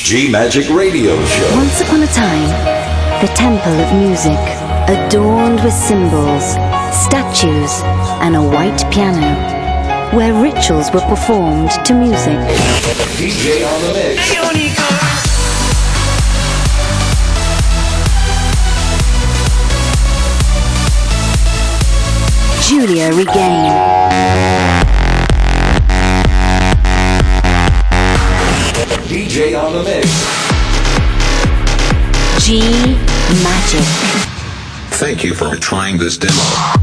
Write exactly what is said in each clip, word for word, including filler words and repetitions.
G Magic Radio Show. Once upon a time, the temple of music, adorned with symbols, statues, and a white piano, where rituals were performed to music. D J on the mix. Giulia Regain. D J on the mix. G Magic. Thank you for trying this demo.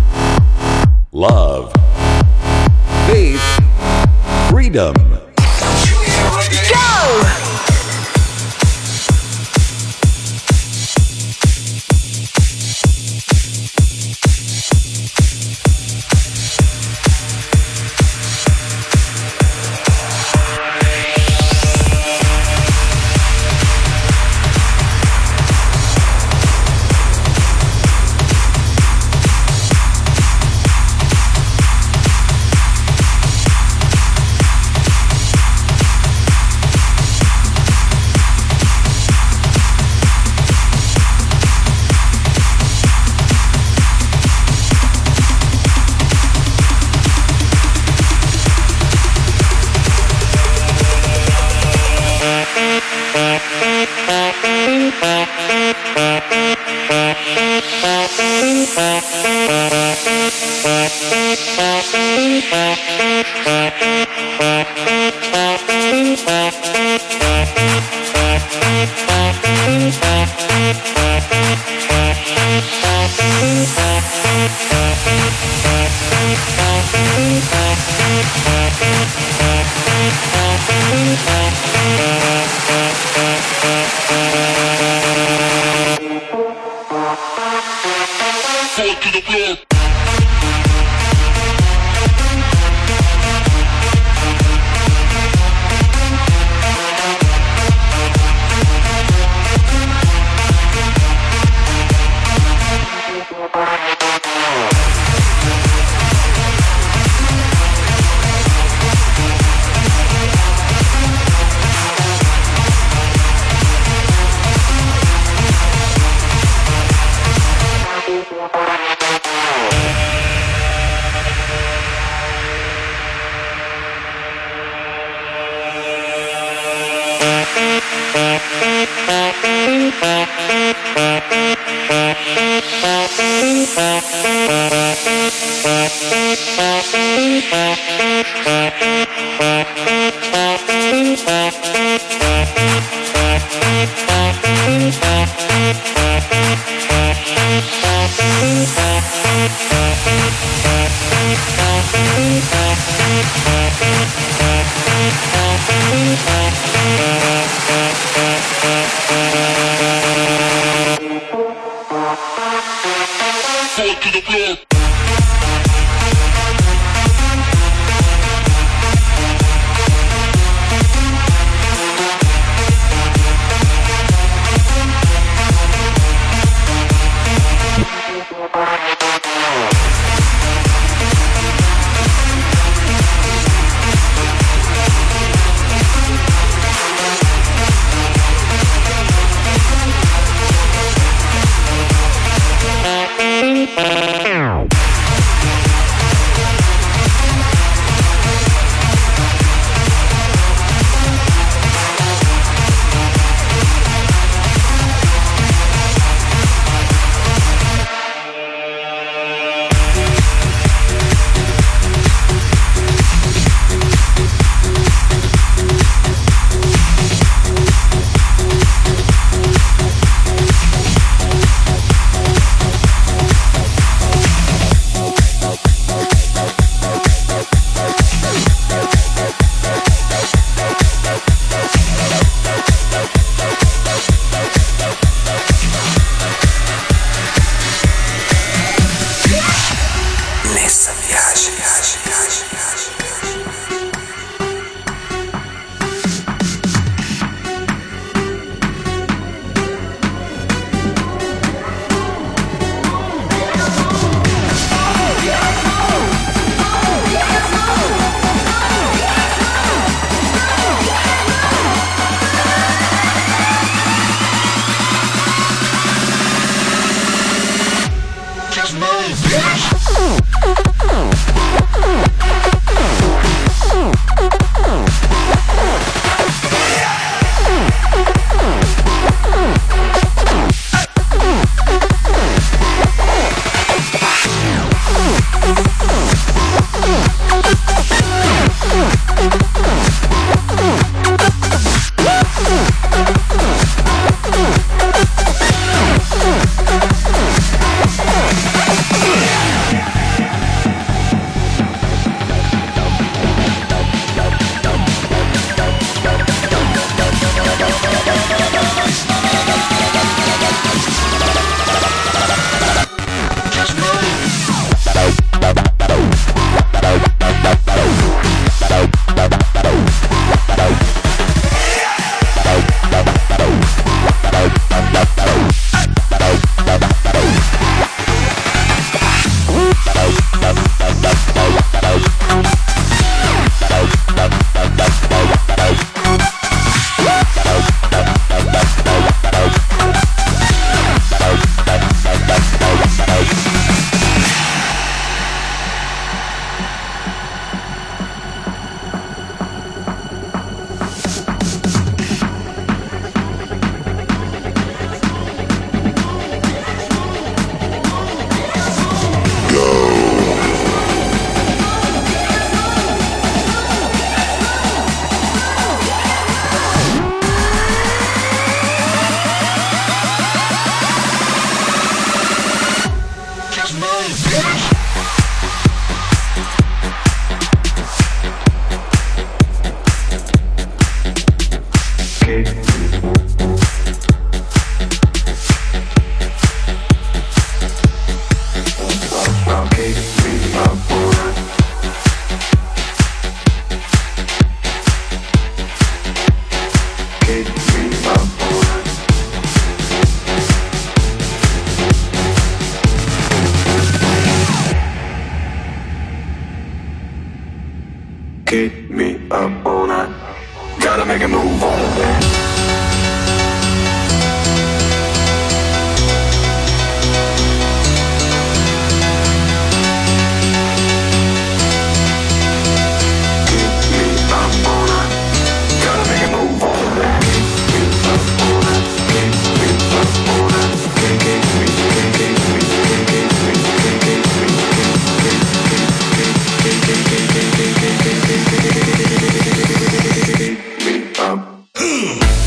Love. Faith. Freedom. Go! keep me up all night. Gotta make a move on that. Me up.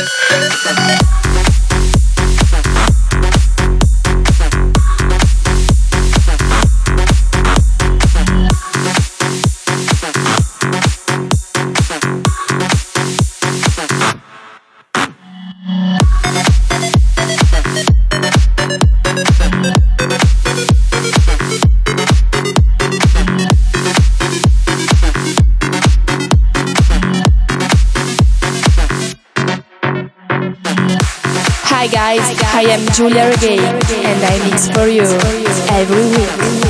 Hi guys, I am Giulia Reggae and I mix for you every week.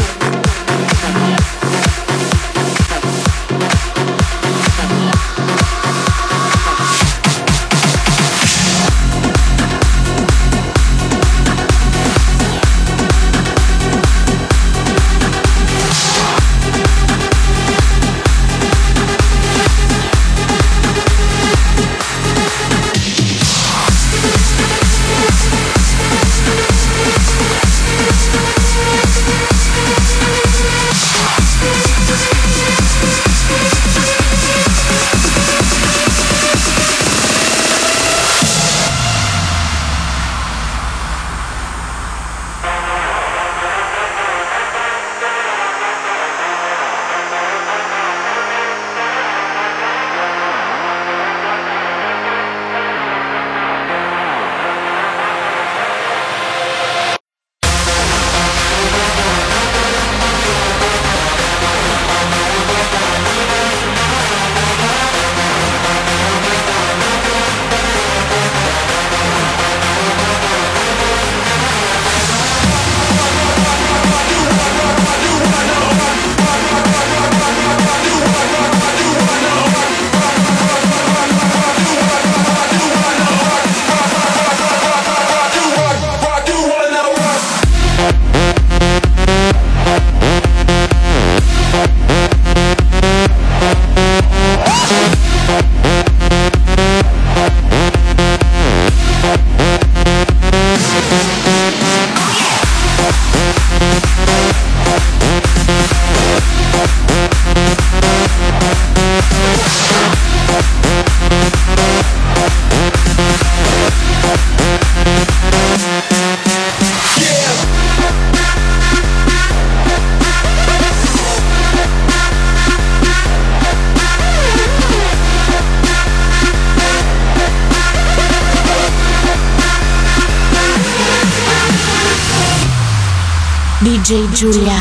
D J Giulia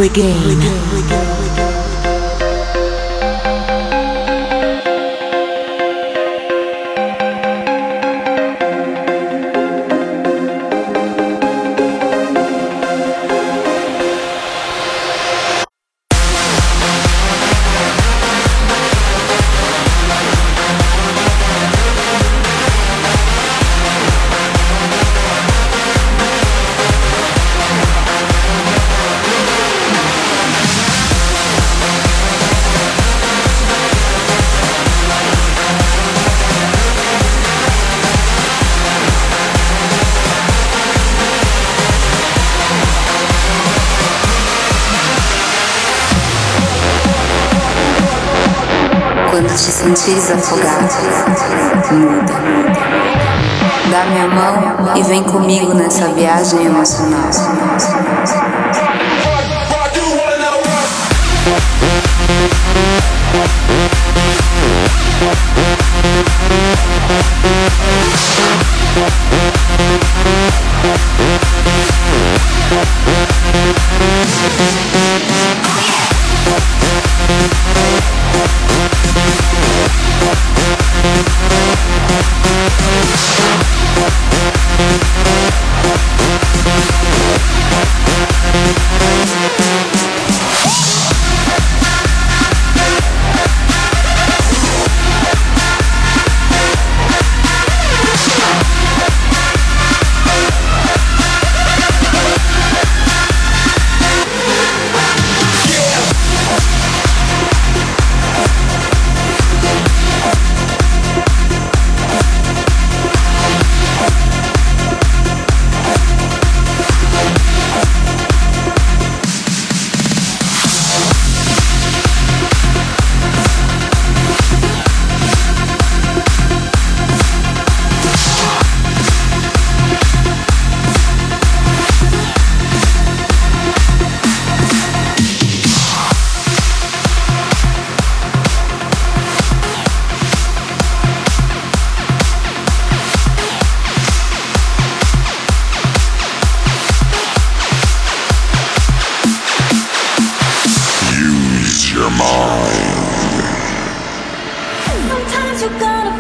Regain. Quando te sentires afogado, muda. Dá minha mão e vem comigo nessa viagem emocional.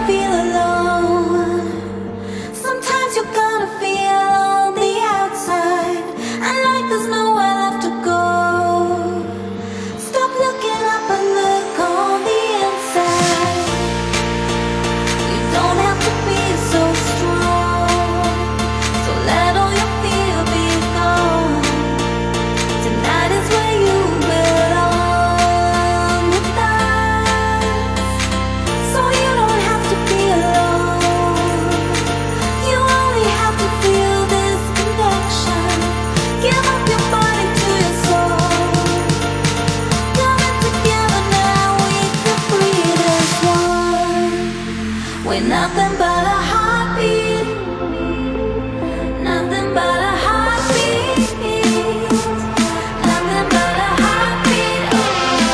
feel alone. Sometimes you're gonna feel on the outside, and like there's nowhere left to go. Stop looking up and look on the inside. You don't have to be so strong, so let all your fear be gone. Tonight is where you belong with us, so you don't have to be alone. You only have to feel this connection. Give up your body to your soul. Coming together now, we can breathe as one. We're nothing but a heartbeat, nothing but a heartbeat, nothing but a heartbeat. Oh,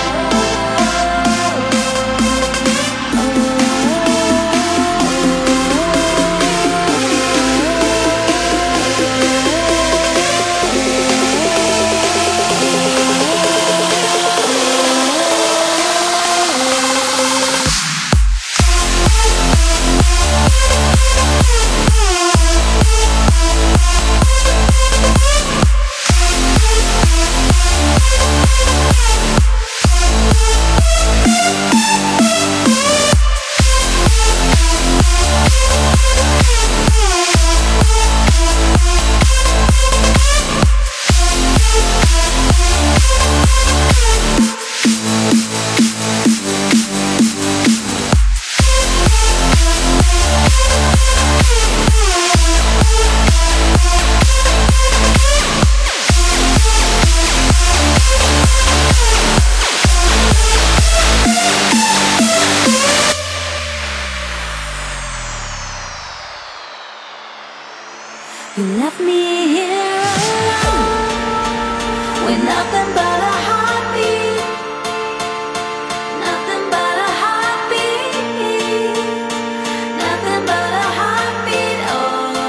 you left me here alone. We're nothing but a heartbeat, nothing but a heartbeat, nothing but a heartbeat. Oh,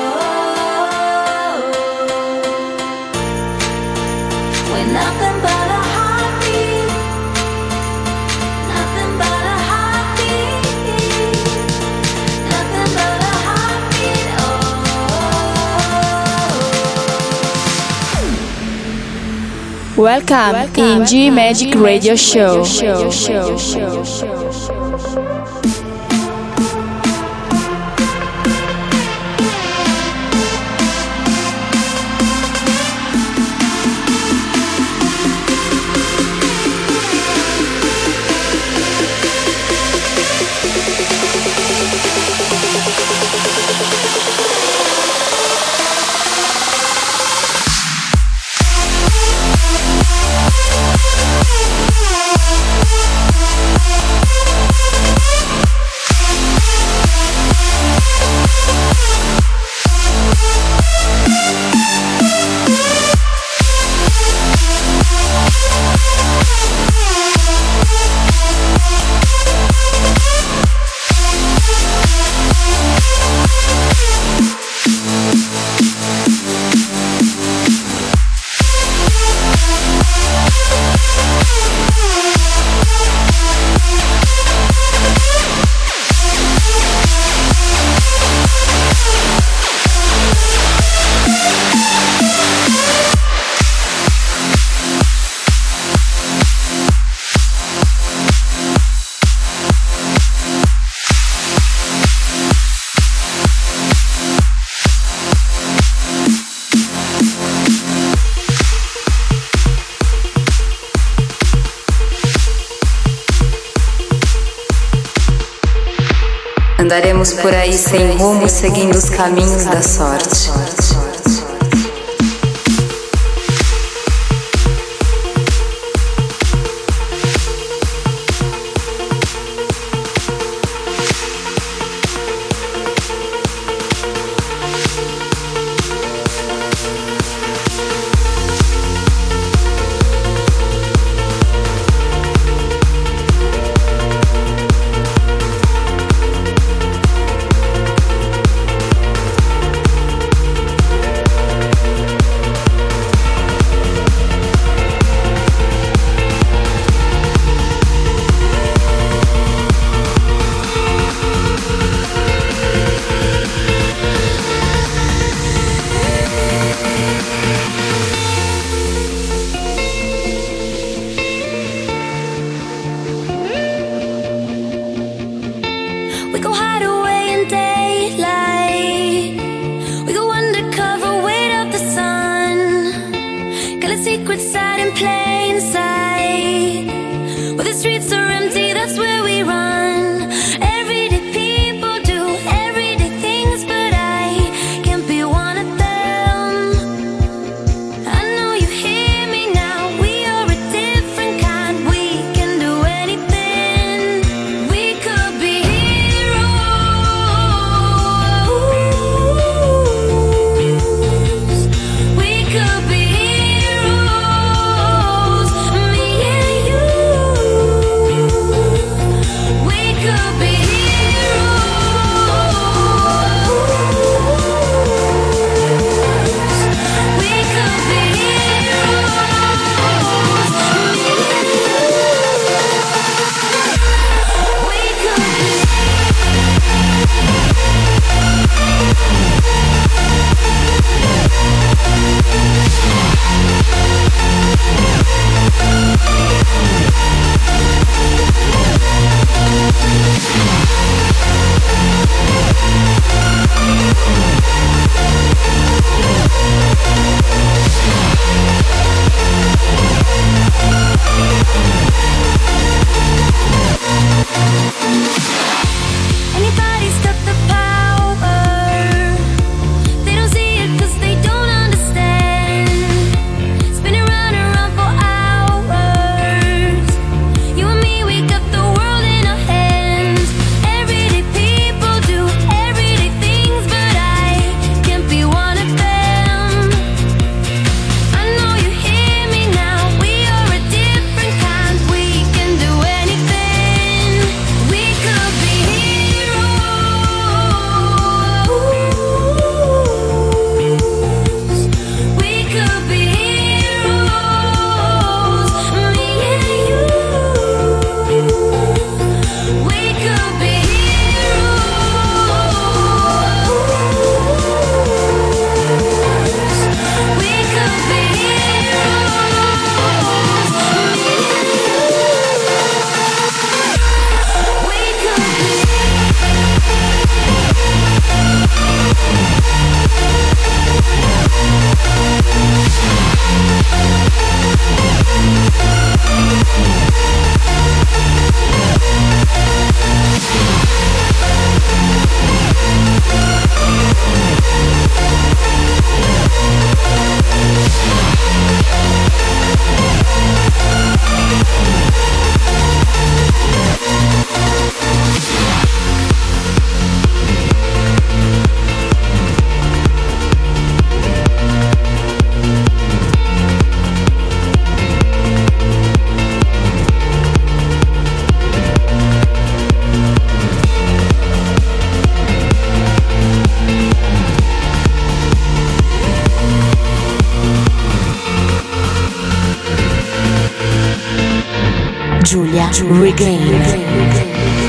we're nothing but a heartbeat, nothing but a heartbeat, nothing but a heartbeat. Oh. Welcome, Welcome in G Magic Radio Show. show, show, show, show. Andaremos por aí sem rumo, seguindo os caminhos da sorte. Giulia Regain.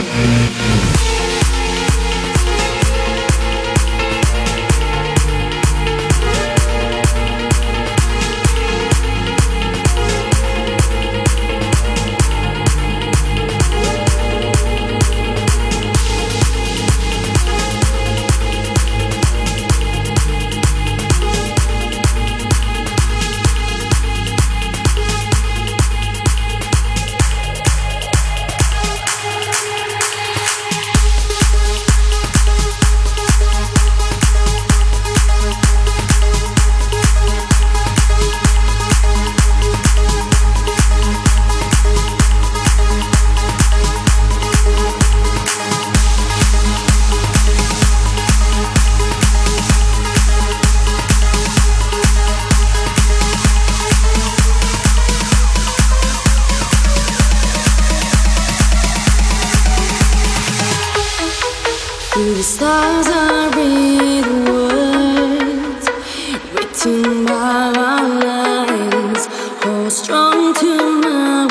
Through the stars I read words written by our lines. Hold strong to my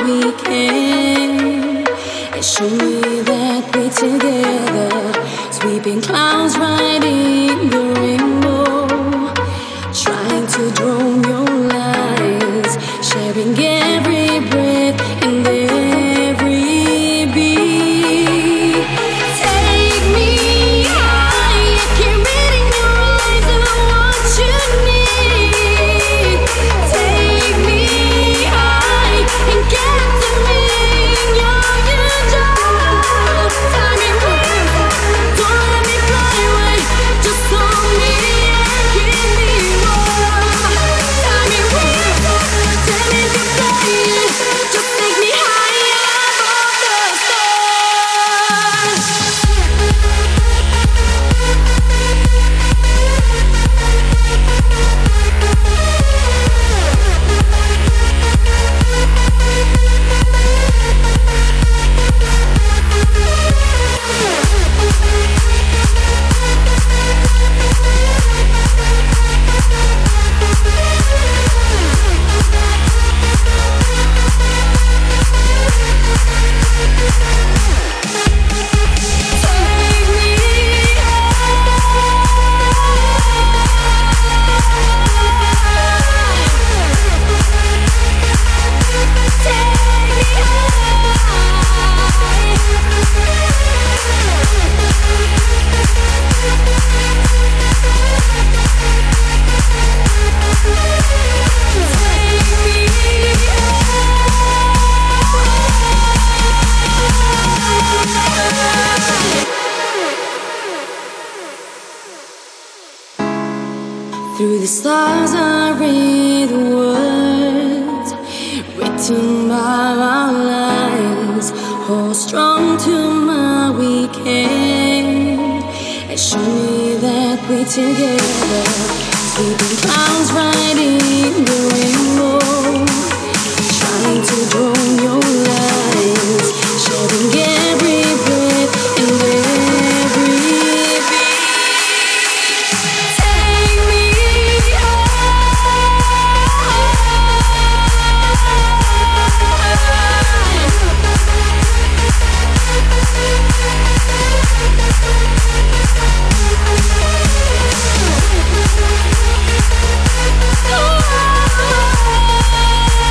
weekend and show me that we're together. Sweeping clouds, riding the rainbow, trying to drown your lies, sharing every breath and every beat. Take me high, I can read in your eyes what you need. Take me high and get to me in your job. Tie me with, don't let me fly away. Just hold me and keep me warm. Tie me with, tell me to play it. Just take me high above the stars. Through the stars I read words written by our lines. Hold strong to my weekend and show me that we're together. Sweeping clouds, riding the rainbow, trying to drown your lies, sharing every breath and every beat. Take me high.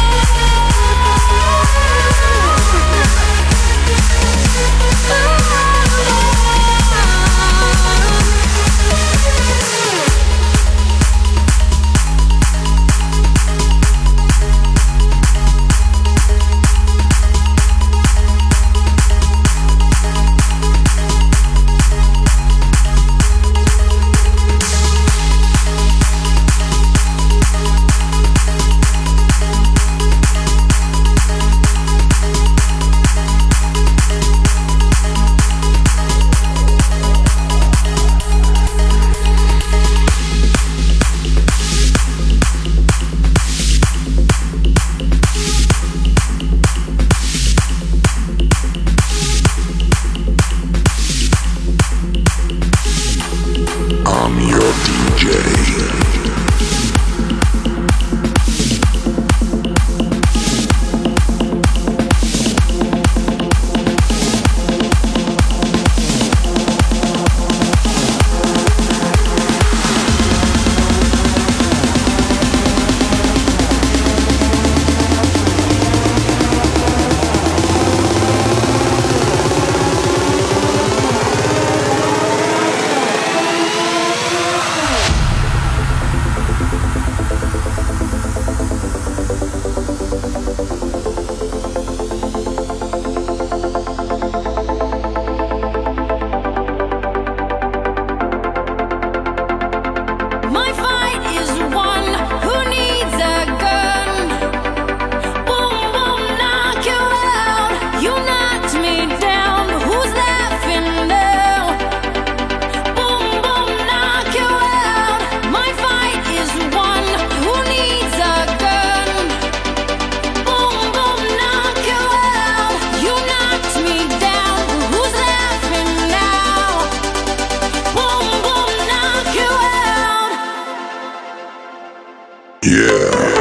Yeah.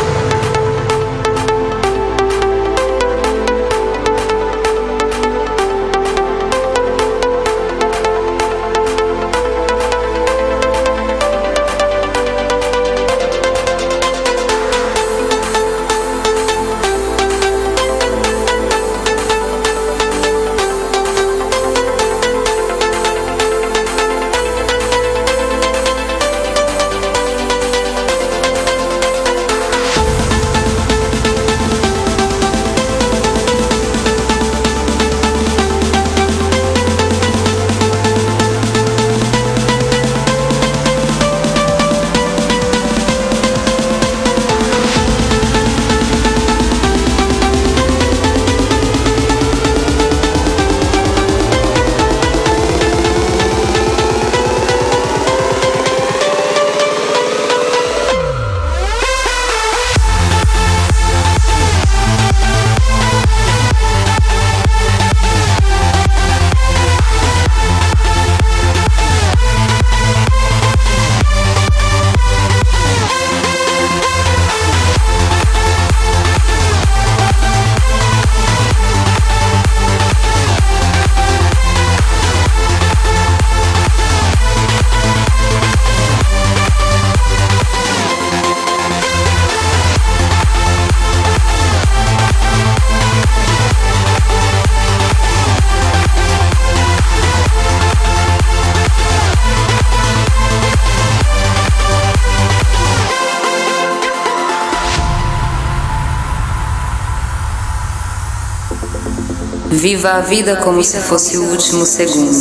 Viva a vida como se fosse o último segundo.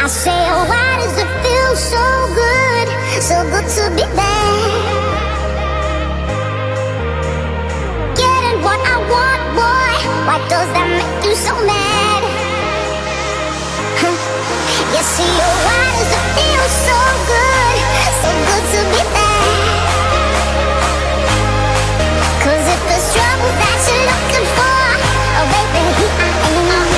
say, oh, why does it feel so good, so good to be there? Getting what I want, boy, why does that make you so mad? Huh. You see, oh, why does it feel so good, so good to be there? Cause if there's trouble that you're looking for, oh baby, here I am.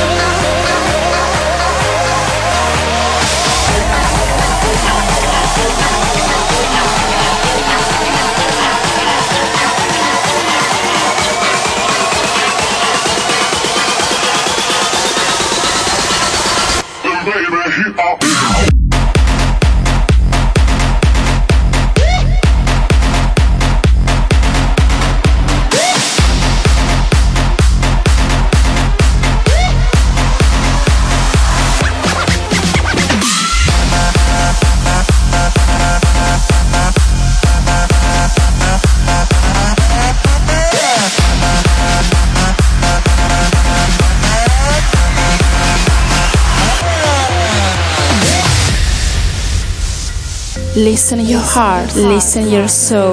Listen your heart, listen your soul.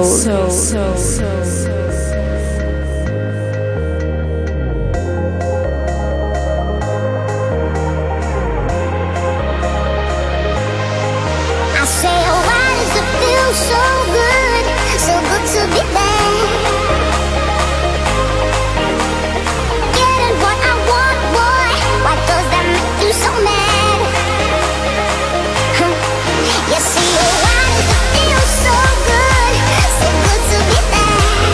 I say, oh, why does it feel so good, so good to be there? Getting what I want, boy, why does that make you so mad? Huh. You see, oh, why does it feel so good, so good to be there?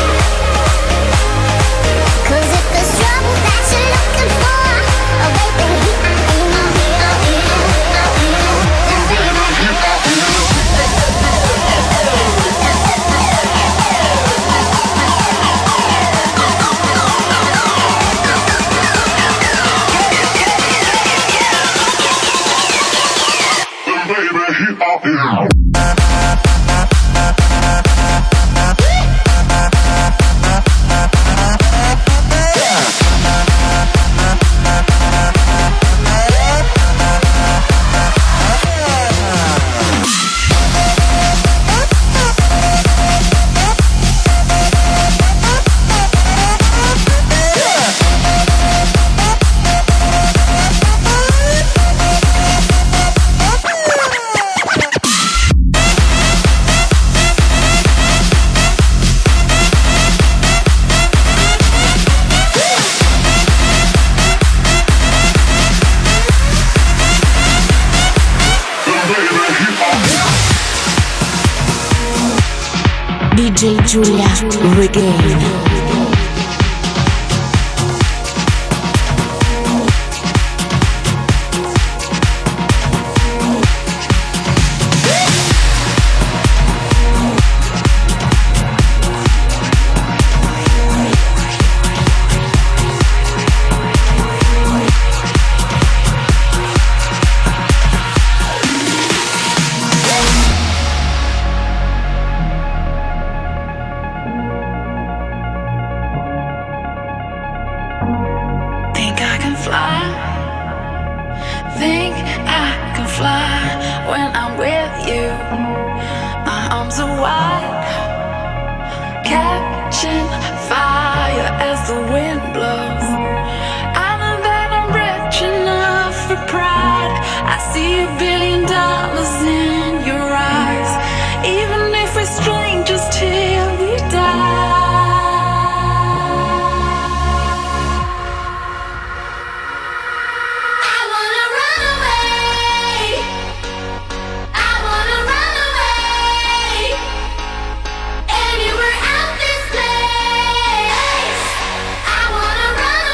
Cause if there's trouble that you're looking for, oh baby, here I am, here I am, here I am. D J Giulia Regain. Anywhere out this place, I wanna run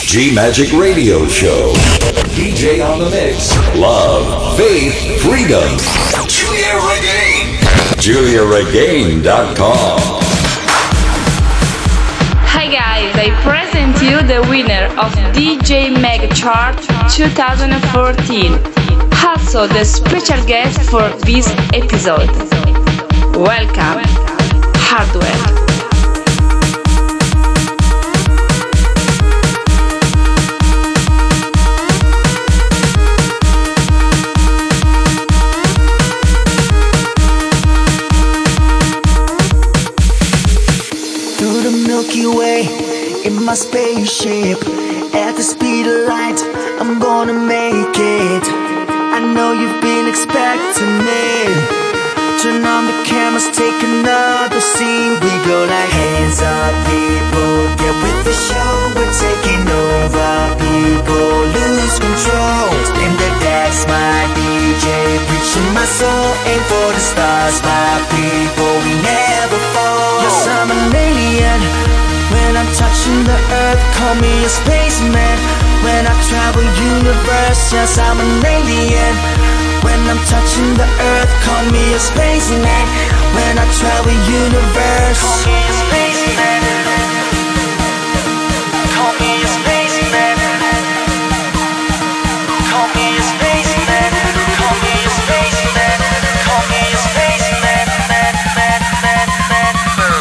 G Magic Radio Show. D J on the mix. Love, faith, freedom. Julia Regain. Julia Regain dot com. Hi guys, I present you the winner of D J Mag Chart twenty fourteen. Also the special guest for this episode. Welcome, Hardwell. Milky Way in my spaceship. At the speed of light, I'm gonna make it. I know you've been expecting me. Turn on the cameras, take another scene. We go like hands up, people. Get with the show, we're taking over. People lose control. Spin the decks, my D J, preaching my soul. Aim for the stars, my people. We never fall. Yes, I'm an alien. When I'm touching the earth, call me a spaceman. When I travel universe, yes, I'm an alien. When I'm touching the earth, call me a spaceman. When I travel universe, call me a spaceman. Call me a spaceman. Call me a spaceman. Call me a spaceman. Call me a spaceman. Man, man, man, man, man.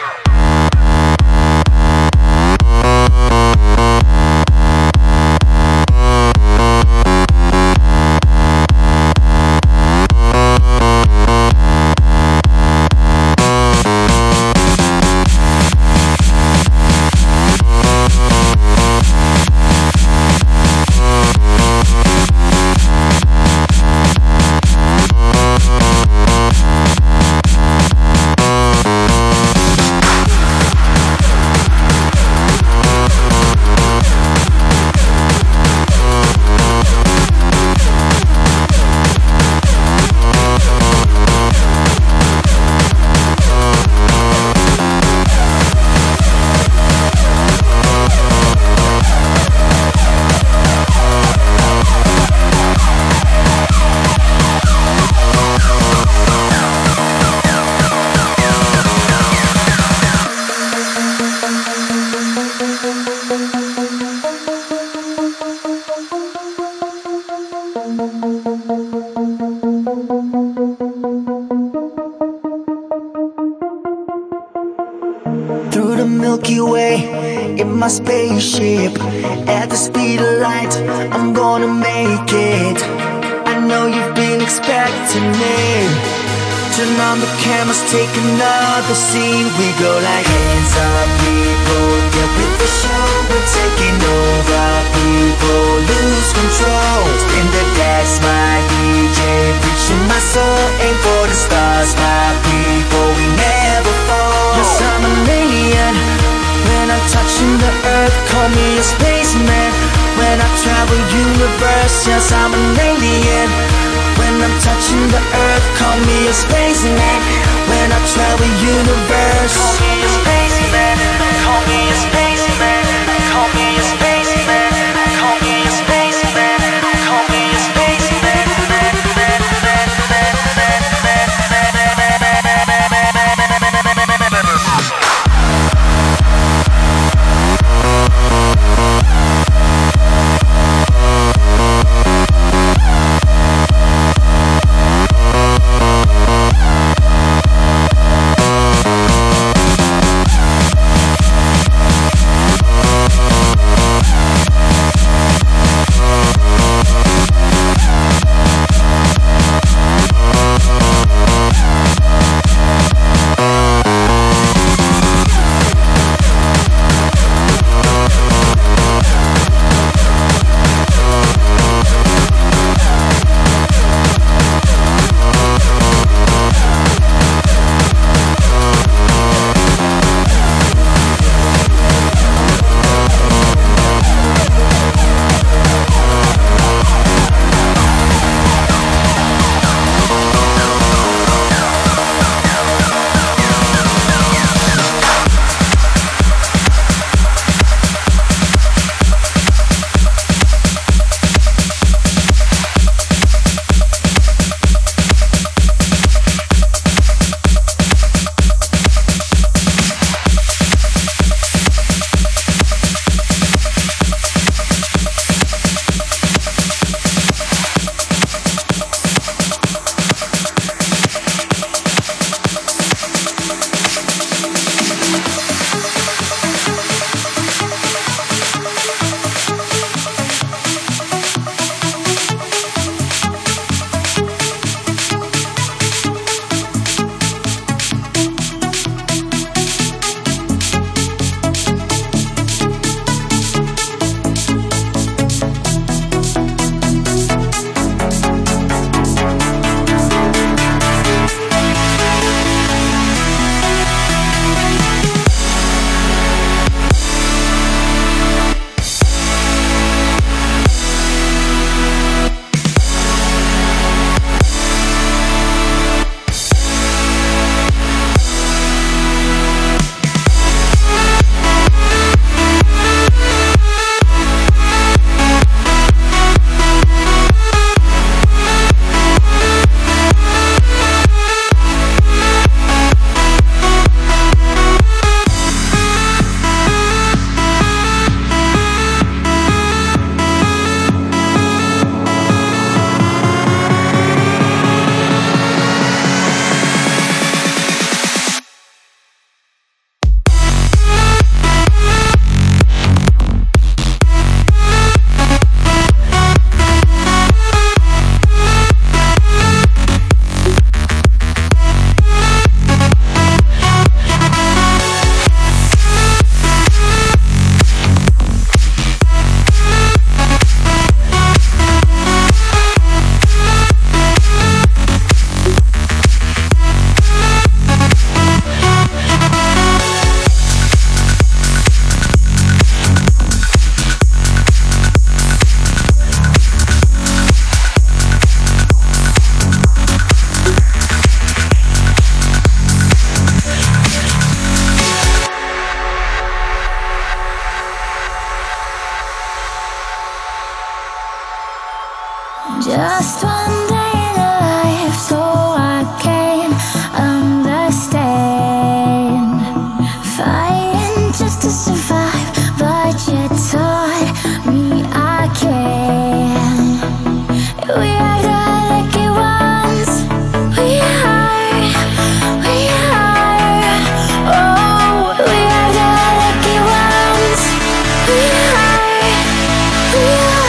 Through the Milky Way in my spaceship. At the speed of light, I'm gonna make it. I know you've been expecting me. Turn on the cameras, take another scene. We go like hands up, people. Get with the show, we're taking over. People lose control. Spin the decks, my D J, preaching my soul. Aim for the stars, my people. We never fall. Yes, I'm an alien. When I'm touching the earth, call me a spaceman. When I travel universe, yes, I'm an alien. When I'm touching the earth, call me a spaceman. When I travel universe, call me a spaceman. Call me a spaceman. Call me a spaceman. Call me a spaceman. Call me a spaceman. Just one day in a life, so I can understand. Fighting just to survive, but you taught me I can. We are the lucky ones. We are, we are. Oh, we are the lucky ones. We are, we are.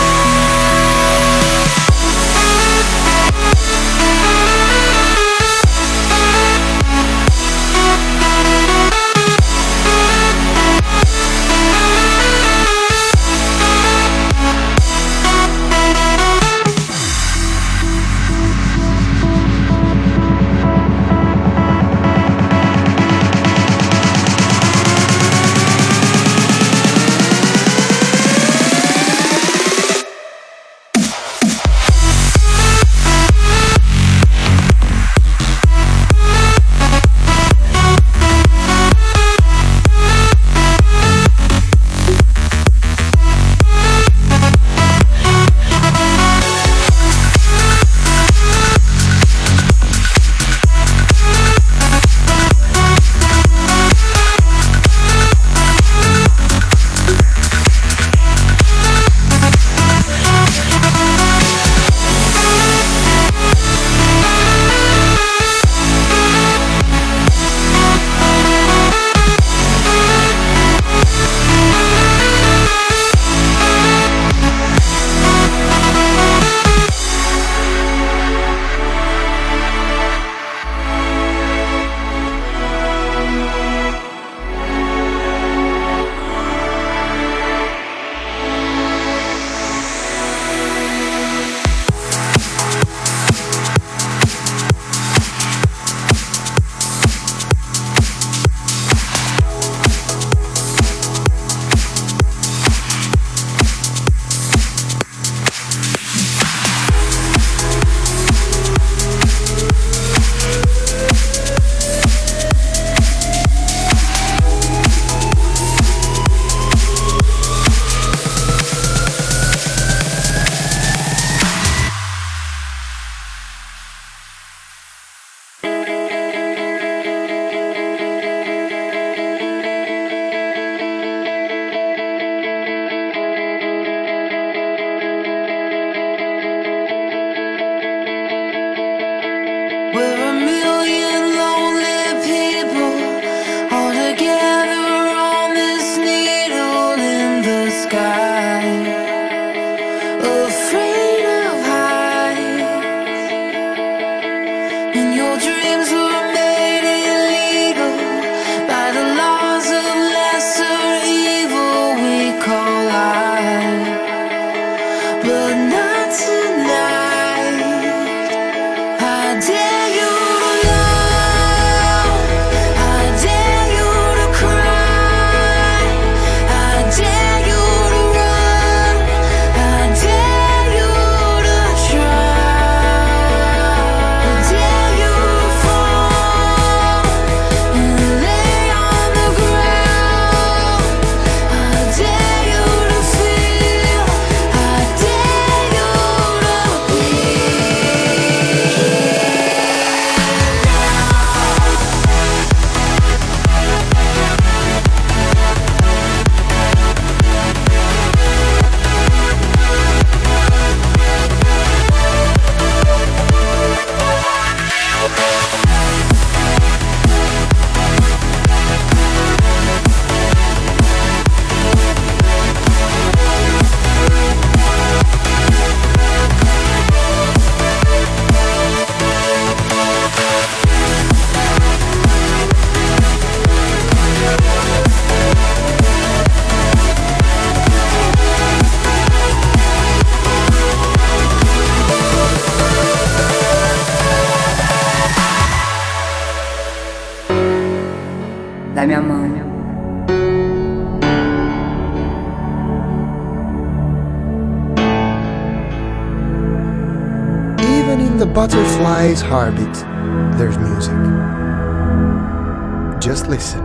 da mia mano. Even in the butterfly's heartbeat, there's music. Just listen.